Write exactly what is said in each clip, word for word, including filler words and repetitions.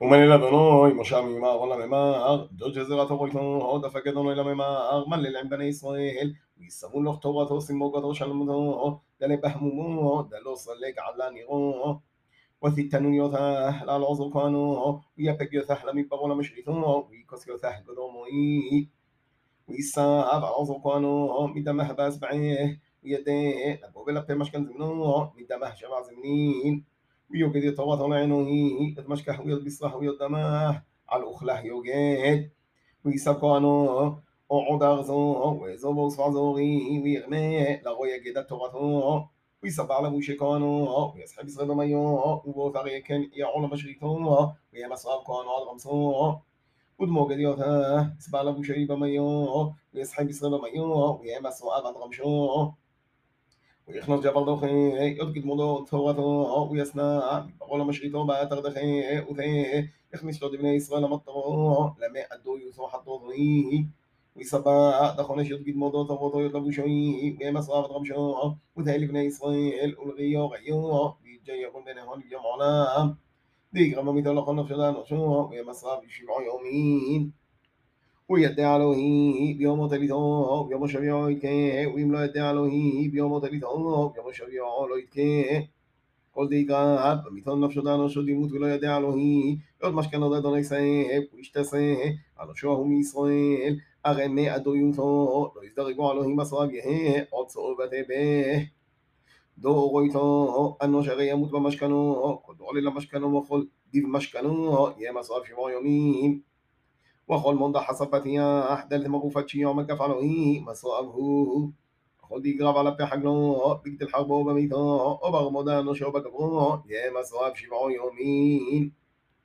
ומנה לאדוני משה ממער לממר, דוד גזירת אורתו, דפק אדוני לממר, מלל עם בני ישראל, ויסרו לך תורתו סמוגתו שלמותו, דלה בהמומו, דלו סלק עלה נירו, وثيتانو يوثاه لا العذر كانو ويبك يوثاه لم يبغوا لم يشريثو ويكس يوثاه قدومي ويساب العذر كانو مدمه باس بعيه ويديه لبو بلا بي مشكن زمنو مدمه شبع زمنين ويوجد يتواطى لعينه يتمشكح ويد بصرح ويد دماه على الأخلاه يوجد ويساب كانو أعود أغزو ويزوبو صفعزوري ويغني لغو يجد التورثو ويسبع له شيكانو ويسحب يسغب ميو وبوثر يكن يعول مشريتو ويمسرب كانو على غمسو ودموغ ديوثا يسبع له شيب ميو ويسحب يسغب ميو ويمسرب على غمشو ويخنص جبل دخي يدقد مدو ثورتو ويسنا بقول مشريتو باتر دخي وثي يخنش لود بني إسرائيل مطرو لما أدو يوثو حطو ضي ويسبع دخونش يدقد مدو ثورتو يطلبو شوي ويمسرب غمشو وثي بني إسرائيل ألغيو غيو بيجي يكون بينهم اليوم علام ديك رمى مثل لقنا فلان وشو ويمسرب يشبع يومين ويدعي عليه بيوم تليثو بيوم شبيع يتكي ويملا يدعي عليه بيوم تليثو بيوم شبيع לא יתקה כל דיקה במיתון נפשו דנו שוד ימות ולא ידע אלוהי עוד משכן עוד אדוני סייב וישתסה על שואו מישראל הרי מעדו יותו לא יזדרגו אלוהים מסרב יהא עוד צור ותבה דורו איתו אנוש הרי ימות במשכנו כל דור לילה משכנו וכל דיב משכנו יהיה מסרב שבע יומים وخل منضح حصفتيا أحدث مغوفتشي يوم كفعله مصابه خل دي قرب على بحقله بقت الحرب وبميثا وبغمضان وشوب كبره يا مصاب شبع يومين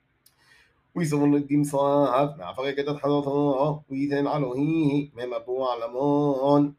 ويسمون الدين صاحب مع فرقة حضرته ويثن عليه مما بو علمون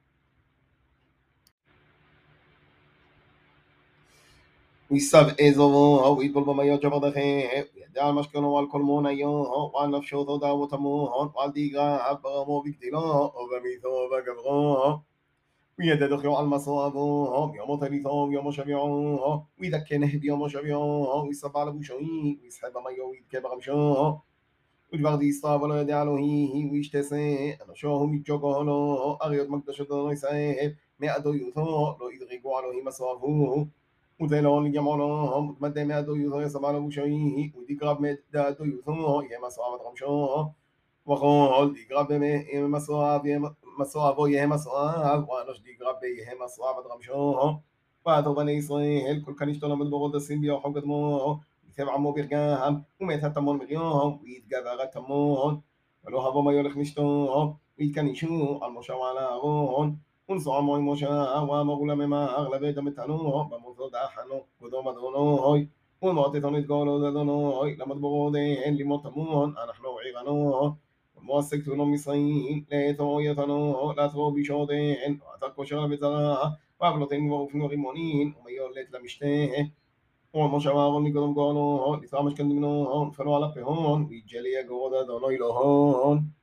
ويساب إيزو ويدبل بميو جبردخي ويدعى المشكلة والكل مونيو وعن نفسه ضدا وتمون وعن ديقا عبرمو بكتلا وبميثو بقبرو ويددخيو على المصابو يوم تليثو يوم شبيعو ويذكنه بيوم شبيعو ويساب على بوشوي ويسحب ميو ويدكي بغمشو ودبردي يصاب ولا يدعى له ويشتسي أنا شوهم يتجوكو له أغيط مقدشو دونو يسايب مئدو يوثو لو يدغيقو عليه مصابو وذلون يجمعون مدة ما دو يوثو يسمع بوشوي وديقرب مدة دو يوثو يما صعب غمشو وقال ديقرب يما صعب مصعب يما صعب وانوش ديقرب يما صعب غمشو واتو بني إسرائيل كل كان يشتغل من بغض السين بيو حق دمو يتبع عمو بيرجام وميت هتمون مليون ويتقابع تمون ولو هبو ما يولخ نشتو ويتكنشو على المشاو على أغون ونصع موي موشا وامغلا مما أغلب دم التنو بموثو داحنو قدوم دونوي ومعطي تنيت قولو دونوي لما تبغودين لموت تمون أنحنو عيغانو وموسك تنو مصين ليتو يتنو لا تبو بشودين وعتقو شغل بزغا واغلطين وغفنو غيمونين وميولت لمشته وموشا واغل نقدم قولو لثامش كندمنو فلو على بهون ويجلي قودا دونوي لهون